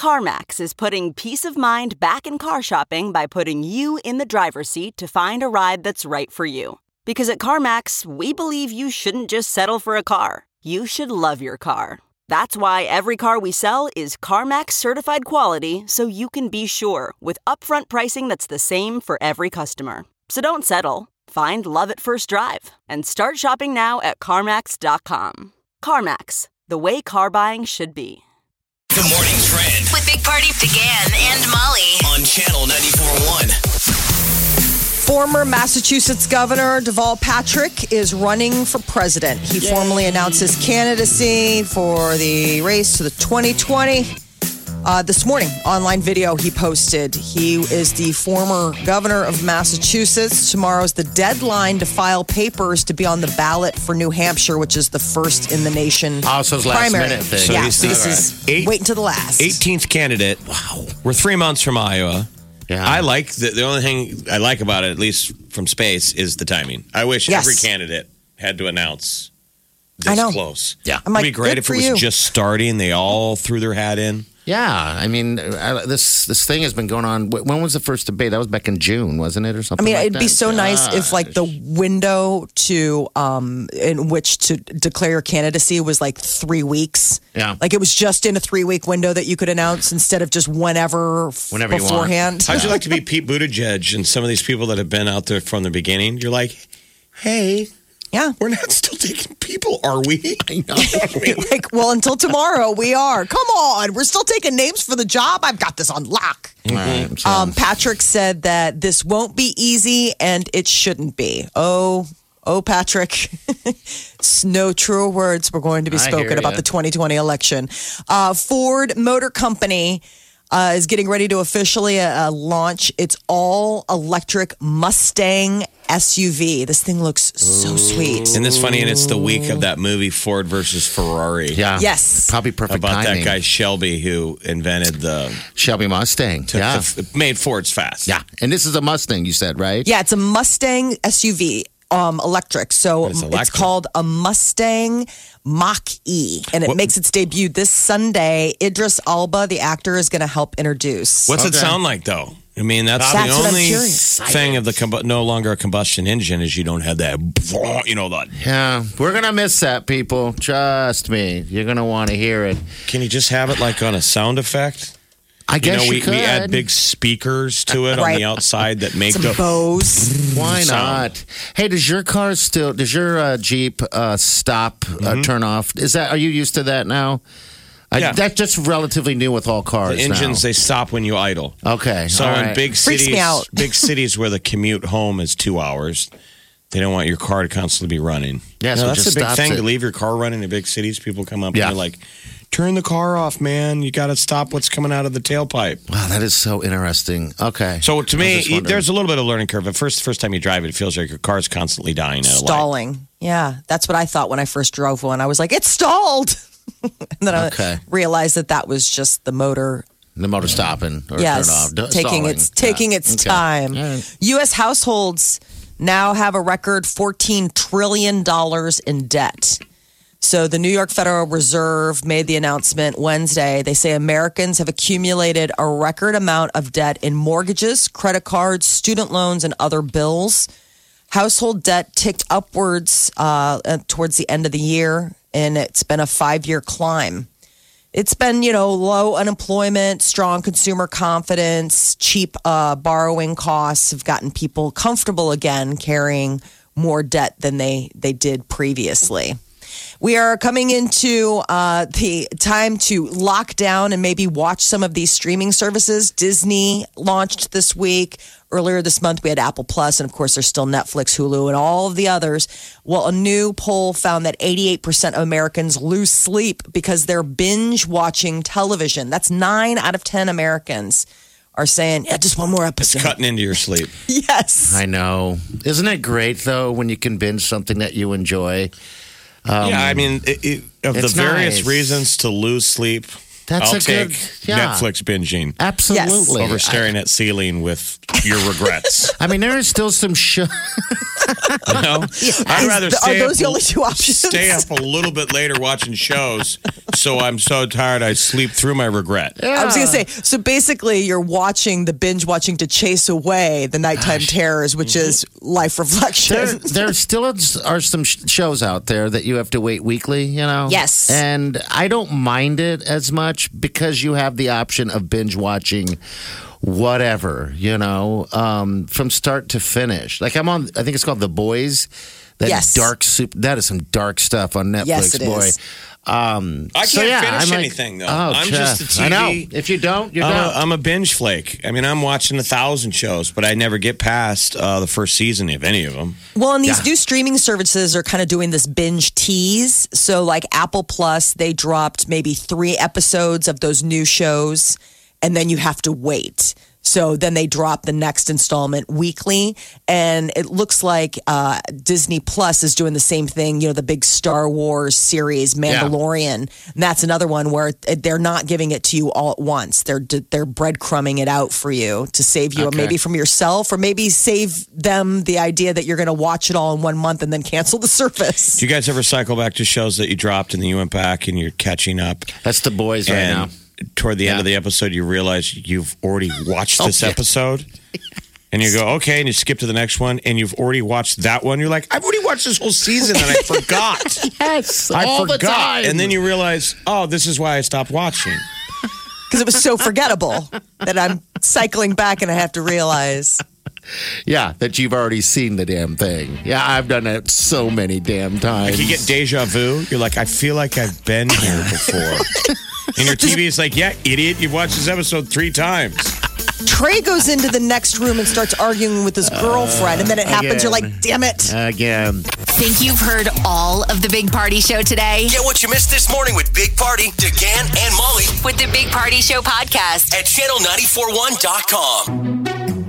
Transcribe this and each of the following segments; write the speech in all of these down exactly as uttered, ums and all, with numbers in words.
CarMax is putting peace of mind back in car shopping by putting you in the driver's seat to find a ride that's right for you. Because at CarMax, we believe you shouldn't just settle for a car. You should love your car. That's why every car we sell is CarMax certified quality, so you can be sure with upfront pricing that's the same for every customer. So don't settle. Find love at first drive and start shopping now at CarMax dot com. CarMax, the way car buying should be. The Morning Trend with Big Party began and Molly on Channel ninety-four point one. Former Massachusetts Governor Deval Patrick is running for president. He Yay. formally announced his candidacy for the race to the twenty twenty. Uh, this morning, online video he posted. He is the former governor of Massachusetts. Tomorrow's the deadline to file papers to be on the ballot for New Hampshire, which is the first in the nation. Oh, so it's last primary. minute thing. So yeah, he's so this right. is Eight, wait until the last. eighteenth candidate. Wow. We're three months from Iowa. Yeah. I like the, the only thing I like about it, at least from space, is the timing. I wish yes. every candidate had to announce this I know. close. Yeah. I'm It'd like, be great good if for it was you. just starting. They all threw their hat in. Yeah, I mean, I, this this thing has been going on. When was the first debate? That was back in June, wasn't it, or I something? mean, like it'd be that? so nice if, like, the window to um in which to declare your candidacy was like three weeks. Yeah. Like it was just in a three week window that you could announce instead of just whenever, f- Whenever you want. beforehand. How'd you like to be Pete Buttigieg and some of these people that have been out there from the beginning? You're like, hey, Yeah. we're not still taking people, are we? I know. Like, well, until tomorrow, we are. Come on. We're still taking names for the job. I've got this on lock. Right, so- Um, Patrick said that this won't be easy and it shouldn't be. Oh, oh, Patrick. No truer words were going to be I spoken hear about ya. the twenty twenty election. Uh, Ford Motor Company uh, is getting ready to officially uh, launch its all electric Mustang S U V. This thing looks so sweet. Isn't this funny? And it's the week of that movie, Ford versus Ferrari. yeah, Yes. probably perfect About timing. that guy Shelby who invented the Shelby Mustang. took Yeah, the, made Fords fast. yeah, and this is a Mustang. You said right? Yeah, it's a Mustang S U V, um, electric. So It's it's, electric. called a Mustang Mach-E, and it What- makes its debut this Sunday. Idris Elba, the actor, is going to help introduce. What's it Okay. sound like though? I mean, that's, That's the what I'm only curious. thing of the combu- no longer a combustion engine is you don't have that, you know, that. Yeah, we're gonna miss that, people. Trust me, you're gonna want to hear it. Can you just have it like on a sound effect? I You guess know, you, we, could. we add big speakers to it on Right. the outside that make Some the. bows. Why sound. not? Hey, does your car still? Does your uh, Jeep uh, stop, uh, turn off? Is that? Are you used to that now? I, Yeah. That's just relatively new with all cars. The engines now. they stop when you idle. Okay. So all in right. big Freaks cities, me out. big cities where the commute home is two hours, they don't want your car to constantly be running. Yeah, You so know, it that's just a big stops thing it. to leave your car running in big cities. People come up Yeah. and they're like, "Turn the car off, man. You got to stop what's coming out of the tailpipe." Wow, that is so interesting. Okay. So to I was me, just wondering. there's a little bit of learning curve. At first, first time you drive it, it feels like your car's constantly dying at a light. Stalling. Yeah, that's what I thought when I first drove one. I was like, it's stalled. And then Okay. I realized that that was just the motor. the motor stopping or Yes, turn off, D- taking stalling. its taking Yeah. its Okay. time. All right. U S households now have a record fourteen trillion dollars in debt. So the New York Federal Reserve made the announcement Wednesday. They say Americans have accumulated a record amount of debt in mortgages, credit cards, student loans, and other bills. Household debt ticked upwards uh, towards the end of the year, and it's been a five-year climb. It's been, you know, low unemployment, strong consumer confidence, cheap uh, borrowing costs have gotten people comfortable again carrying more debt than they, they did previously. We are coming into uh, the time to lock down and maybe watch some of these streaming services. Disney launched this week. Earlier this month, we had Apple Plus, and of course, there's still Netflix, Hulu, and all of the others. Well, a new poll found that eighty-eight percent of Americans lose sleep because they're binge watching television. That's nine out of ten Americans are saying, yeah, just one more It's episode. cutting into your sleep. Yes. I know. Isn't it great though when you can binge something that you enjoy? Um, yeah, I mean, it, it, of the it's various nice. reasons to lose sleep, That's I'll a take good yeah. Netflix binging Absolutely. over staring at ceiling with your regrets. I mean, there is still some show. You know? I'd rather Is- stay are those up, the only two options? stay up a little bit later watching shows, so I'm so tired I sleep through my regret. I was going to say, so basically, you're watching the binge watching to chase away the nighttime terrors, which is life reflection. There, there still is- are some sh- shows out there that you have to wait weekly, you know? Yes. And I don't mind it as much because you have the option of binge watching whatever, you know, um, from start to finish. Like I'm on, I think it's called The Boys. That Yes. dark soup. That is some dark stuff on Netflix, Yes, it boy. is. Um, I so can't yeah, finish I'm like, anything, though. Oh, I'm Jeff, just a T V. I know. If you don't, you're I'm done. a, I'm a binge flake. I mean, I'm watching a thousand shows, but I never get past uh, the first season of any of them. Well, and these Yeah. new streaming services are kind of doing this binge tease. So, like Apple Plus, they dropped maybe three episodes of those new shows, and then you have to wait. So then they drop the next installment weekly. And it looks like uh, Disney Plus is doing the same thing. You know, the big Star Wars series, Mandalorian. And that's another one where they're not giving it to you all at once. They're they're breadcrumbing it out for you to save you, Okay. maybe from yourself, or maybe save them the idea that you're going to watch it all in one month and then cancel the service. Do you guys ever cycle back to shows that you dropped and then you went back and you're catching up? That's The Boys right and now. toward the end Yeah. of the episode, you realize you've already watched Oh, this yeah. episode. And you go, okay, and you skip to the next one, and you've already watched that one. You're like, I've already watched this whole season, and I forgot. Yes, I all the forgot. time. And then you realize, oh, this is why I stopped watching. Because it was so forgettable that I'm cycling back and I have to realize. Yeah, that you've already seen the damn thing. Yeah, I've done that so many damn times. Like you get deja vu. You're like, I feel like I've been here before. And your T V is like, yeah, idiot, you've watched this episode three times. Trey goes into the next room and starts arguing with his girlfriend, and then it happens. You're like, damn it. Again. Think you've heard all of the Big Party Show today? Get what you missed this morning with Big Party, DeGan, and Molly With the Big Party Show podcast. at channel nine four one dot com.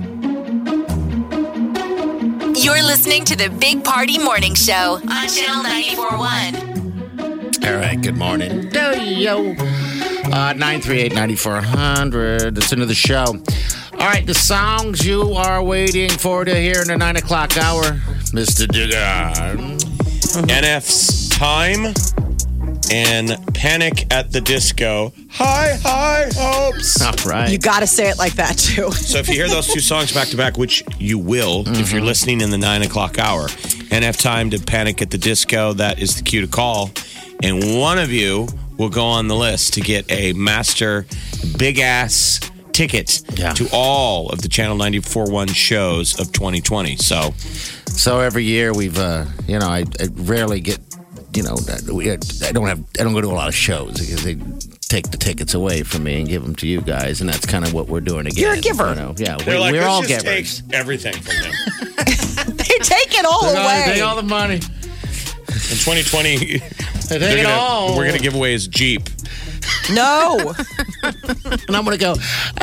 You're listening to the Big Party Morning Show on Channel ninety-four point one. All right, good morning. Yo. Uh, nine three eight, nine four hundred. It's into the show. All right, the songs you are waiting for to hear in the nine o'clock hour. Mister Dugan. N F's Time and Panic at the Disco. High, high hopes. All right. You got to say it like that, too. So if you hear those two songs back to back, which you will if you're listening in the nine o'clock hour, N F Time to Panic at the Disco, that is the cue to call. And one of you will go on the list to get a master big ass ticket Yeah. to all of the Channel ninety-four point one shows of twenty twenty. So So every year we've, uh, you know, I, I rarely get, you know, we, I don't have, I don't go to a lot of shows because they take the tickets away from me and give them to you guys, and that's kind of what we're doing again. You're a giver. You know? Yeah, they're we, like, we're let's all just givers. take everything from them. They take it all They're gonna away. take all the money. In twenty twenty, They they're take it gonna- all. we're going to give away his Jeep. No. And I'm going to go,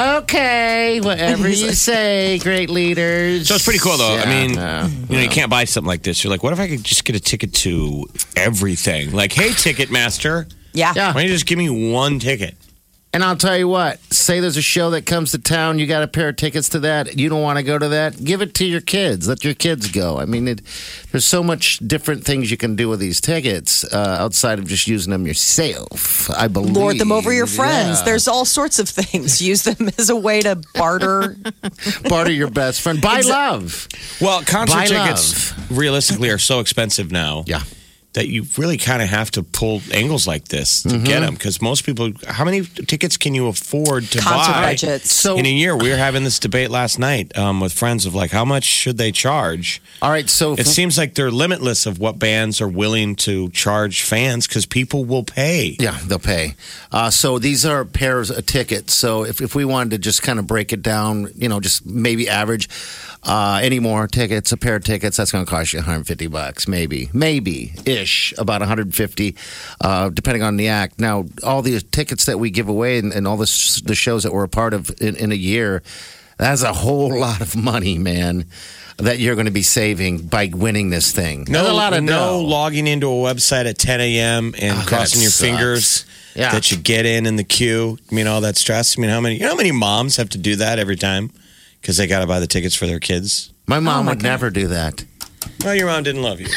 okay, whatever you say, great leaders. So it's pretty cool, though. I Yeah, mean, no, you know, you can't buy something like this. You're like, what if I could just get a ticket to everything? Like, hey, Ticketmaster, Yeah. Yeah. why don't you just give me one ticket? And I'll tell you what, say there's a show that comes to town, you got a pair of tickets to that, you don't want to go to that, give it to your kids. Let your kids go. I mean, it, there's so much different things you can do with these tickets uh, outside of just using them yourself, I believe. Lord them over your friends. Yeah. There's all sorts of things. Use them as a way to barter. Barter your best friend. Buy love. Well, concert Buy tickets realistically are so expensive now. Yeah. That you really kind of have to pull angles like this to Mm-hmm. get them because most people, how many tickets can you afford to Concert buy budgets. So, in a year? We were having this debate last night um, with friends of like, how much should they charge? all right, so It seems like they're limitless of what bands are willing to charge fans because people will pay. yeah, they'll pay. Uh, so these are pairs of tickets. So if, if we wanted to just kind of break it down, you know, just maybe average uh, any more tickets, a pair of tickets, that's going to cost you one hundred fifty bucks, maybe, maybe ish, about one hundred fifty, uh, depending on the act. Now, all the tickets that we give away and, and all the, the shows that we're a part of in, in a year, That's a whole lot of money, man, that you're going to be saving by winning this thing. No, That's a lot of no dough. logging into a website at ten a.m. and Oh, crossing that your sucks. fingers Yeah. that you get in in the queue. I mean, all that stress. I mean, how many you know how many moms have to do that every time because they got to buy the tickets for their kids? My mom Oh, my would God. never do that. Well, your mom didn't love you.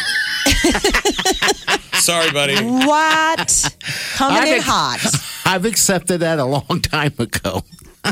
Sorry, buddy. What? Coming I in think- hot. I've accepted that a long time ago.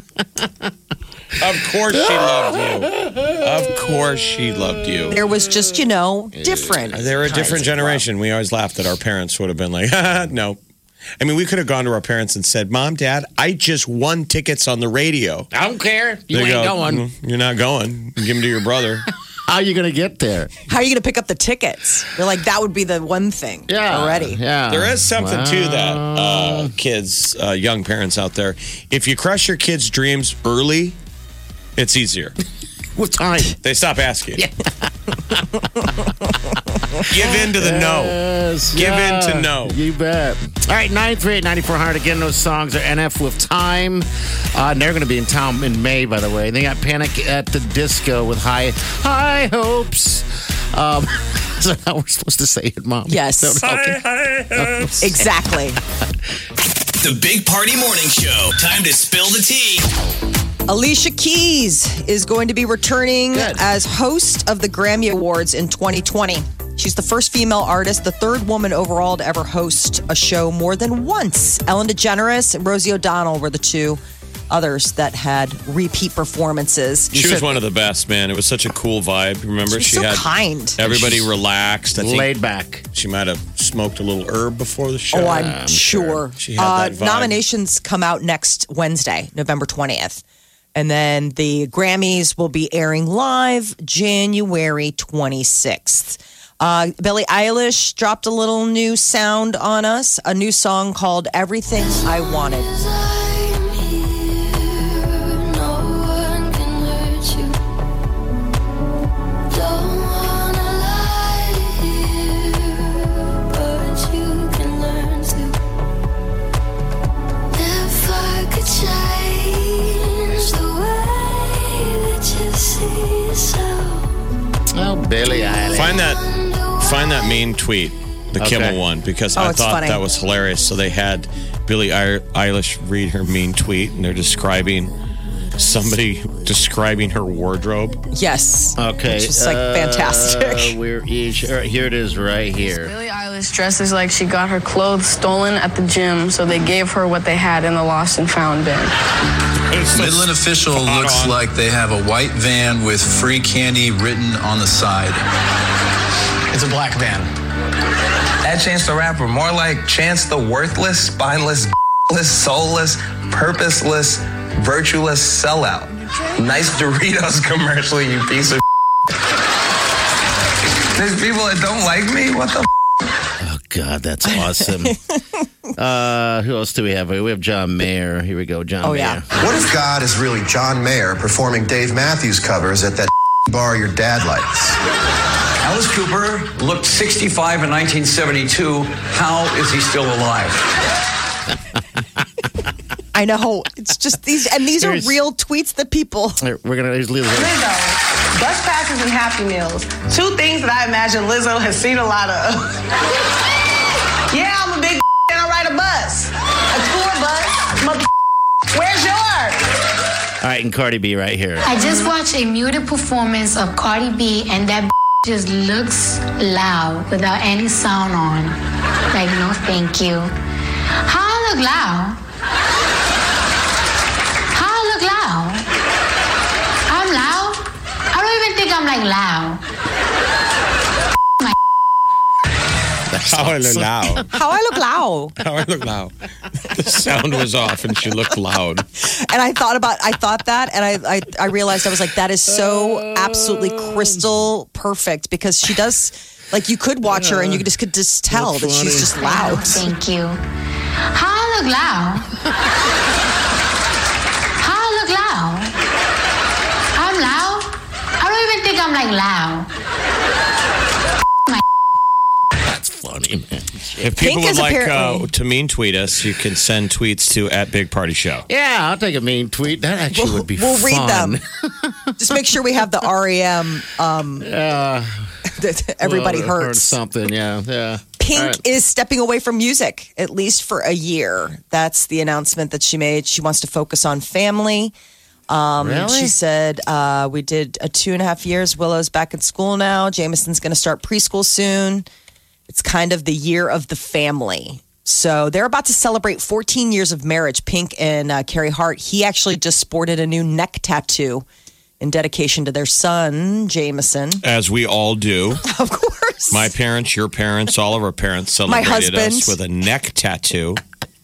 Of course she loved you. Of course she loved you. There was just, you know, different. They're a kinds different of generation. We always laughed that our parents would have been like, no. I mean, we could have gone to our parents and said, Mom, Dad, I just won tickets on the radio. I don't care. You They ain't go, going. "Mm, You're not going. Give them to your brother. How are you going to get there? How are you going to pick up the tickets? You're like, that would be the one thing already. Yeah. There is something Wow. to that, uh, kids, uh, young parents out there. If you crush your kids' dreams early, it's easier. With time. They stop asking. Give in to the no. Yes, Give yeah, in to no. You bet. All right, nine three eight, nine four hundred. Again, those songs are N F with Time. Uh, and they're going to be in town in May, by the way. They got Panic at the Disco with High High Hopes. Um, is that how we're supposed to say it, Mom? Yes. Okay. Exactly. The Big Party Morning Show. Time to spill the tea. Alicia Keys is going to be returning Good. as host of the Grammy Awards in twenty twenty. She's the first female artist, the third woman overall to ever host a show more than once. Ellen DeGeneres and Rosie O'Donnell were the two others that had repeat performances. She was one of the best, man. It was such a cool vibe. Remember, She was so had kind. everybody She's relaxed. I think Laid back. she might have smoked a little herb before the show. Oh, I'm, sure. She had Uh, that vibe. nominations come out next Wednesday, November twentieth. And then the Grammys will be airing live January twenty-sixth. Uh, Billie Eilish dropped a little new sound on us, a new song called Everything I Wanted. Oh, Billie Eilish. Find that, find that mean tweet, the Okay. Kimmel one, because Oh, I it's thought funny. that was hilarious. So they had Billie Eil- Eilish read her mean tweet, and they're describing somebody describing her wardrobe. Yes. Okay. Which is like fantastic. Uh, we're, here it is right here. Billie Eilish dresses like she got her clothes stolen at the gym, so they gave her what they had in the lost and found bin. Midland official looks on. like they have a white van with free candy written on the side. It's a black van. That Chance the Rapper, more like Chance the worthless, spineless, soulless, purposeless, virtueless sellout. Nice Doritos commercial, you piece of There's people that don't like me? What the Oh, God, that's awesome. uh, who else do we have? We have John Mayer. Here we go, John Oh, Mayer. yeah. What if God is really John Mayer performing Dave Matthews covers at that bar your dad likes? Alice Cooper looked sixty-five in nineteen seventy-two. How is he still alive? I know. It's just these, and these Here's- are real tweets that people. Here, We're going to use Lizzo. Lizzo, bus passes and Happy Meals. Two things that I imagine Lizzo has seen a lot of. Yeah, I'm a big and I ride a bus. A tour bus. Mother, where's yours? All right, and Cardi B right here. I just watched a muted performance of Cardi B, and that just looks loud without any sound on. Like, no, thank you. How I look loud? How I look loud? I'm loud? I don't even think I'm like loud. How I look loud. How I look loud. How I look loud. The sound was off, and she looked loud. And I thought about, I thought that, and I, I, I realized I was like, that is so absolutely crystal perfect because she does, like, you could watch her and you just could just tell that she's just loud. Thank you. How I look loud? How I look loud? I'm loud? I don't even think I'm like loud. That's funny, man. If people Pink would is like uh, apparently- to mean tweet us, you can send tweets to at Big Party Show. Yeah, I'll take a mean tweet. That actually We'll, would be we'll fun. read them. Just make sure we have the R E M. Um, Yeah. that everybody Well, heard hurts. something, yeah, yeah. Pink All right. is stepping away from music, at least for a year. That's the announcement that she made. She wants to focus on family. Um, Really? She said, uh, we did a two and a half years. Willow's back in school now. Jameson's going to start preschool soon. It's kind of the year of the family. So they're about to celebrate fourteen years of marriage. Pink and uh, Carrie Hart. He actually just sported a new neck tattoo in dedication to their son, Jameson. As we all do. Of course. My parents, your parents, all of our parents My celebrated husband. us with a neck tattoo.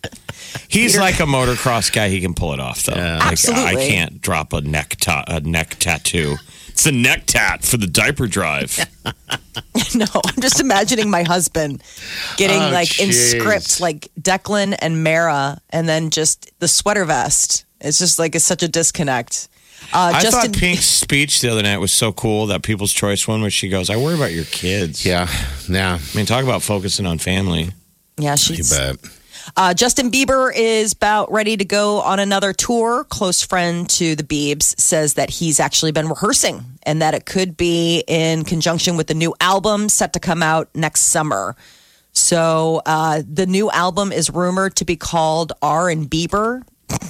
He's like a motocross guy. He can pull it off, though. Like, Absolutely. I can't drop a neck ta- a neck tattoo. It's a neck tat for the diaper drive. No, I'm just imagining my husband getting Oh, like in jeez. script, like Declan and Mara, and then just the sweater vest. It's just like it's such a disconnect. Uh, I Justin, thought Pink's speech the other night was so cool, that People's Choice one, where she goes, I worry about your kids. Yeah, yeah. I mean, talk about focusing on family. yeah, You she's. bet. Uh, Justin Bieber is about ready to go on another tour. Close friend to the Biebs says that he's actually been rehearsing and that it could be in conjunction with the new album set to come out next summer. So uh, the new album is rumored to be called R and Bieber.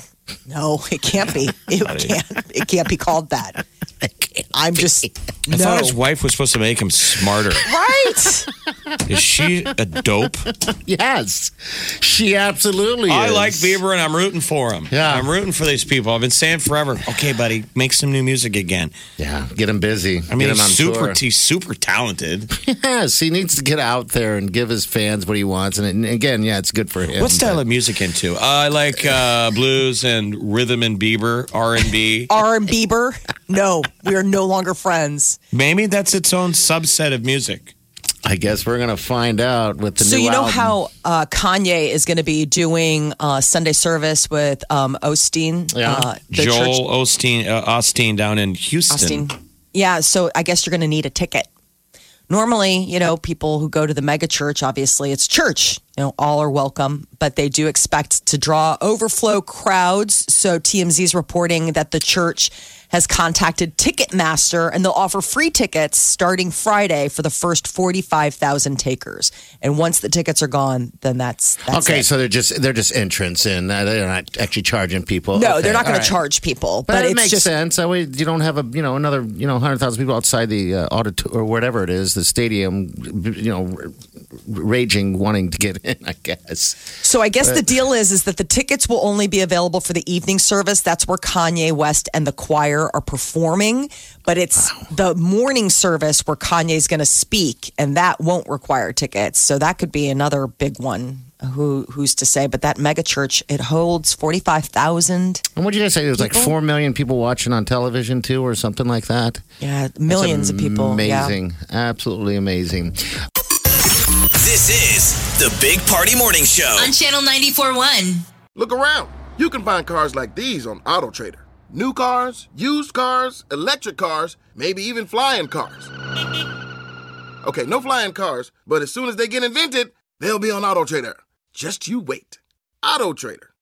No, it can't be. It can't. It can't be called that. I'm just. I no. thought his wife was supposed to make him smarter. Right. Is she a dope? Yes, she absolutely I is. like Bieber and I'm rooting for him. Yeah. I'm rooting for these people. I've been saying forever, okay, buddy, make some new music again. Yeah, get him busy. I mean, get him on he's super, tour. he's super talented. Yes, he needs to get out there and give his fans what he wants. And, and again, yeah, it's good for him. What style but- of music into? Uh, I like uh, blues and rhythm and Bieber, R and B. R and Bieber. No, we are no longer friends. Maybe that's its own subset of music. I guess we're gonna find out with the So new you know album. how uh, Kanye is going to be doing uh, Sunday service with um, Osteen, Yeah. uh, the Joel church Osteen, uh, Osteen down in Houston. Austin. Yeah, so I guess you're going to need a ticket. Normally, you know, people who go to the mega church, obviously it's church. You know, all are welcome, but they do expect to draw overflow crowds. So T M Z is reporting that the church has contacted Ticketmaster and they'll offer free tickets starting Friday for the first forty-five thousand takers. And once the tickets are gone, then that's, that's Okay, it. so they're just they're just entrance in. Uh, They're not actually charging people. No, Okay, they're not going all to right. charge people, But, but, it it's makes just sense. That way, you don't have a you know another you know hundred thousand people outside the uh, auditorium or whatever it is, the stadium, you know, r- raging, wanting to get in. I guess. So I guess the deal is is that the tickets will only be available for the evening service. That's where Kanye West and the choir are performing. But it's the morning service where Kanye's going to speak, and that won't require tickets. So that could be another big one. Who who's to say? But that mega church, it holds forty five thousand. And what did you guys say? There was like People? four million people watching on television too, or something like that. Yeah, millions of people. Yeah. Amazing, absolutely amazing. This is the Big Party Morning Show. On Channel ninety-four point one. Look around. You can find cars like these on AutoTrader. New cars, used cars, electric cars, maybe even flying cars. Okay, no flying cars, but as soon as they get invented, they'll be on AutoTrader. Just you wait. AutoTrader.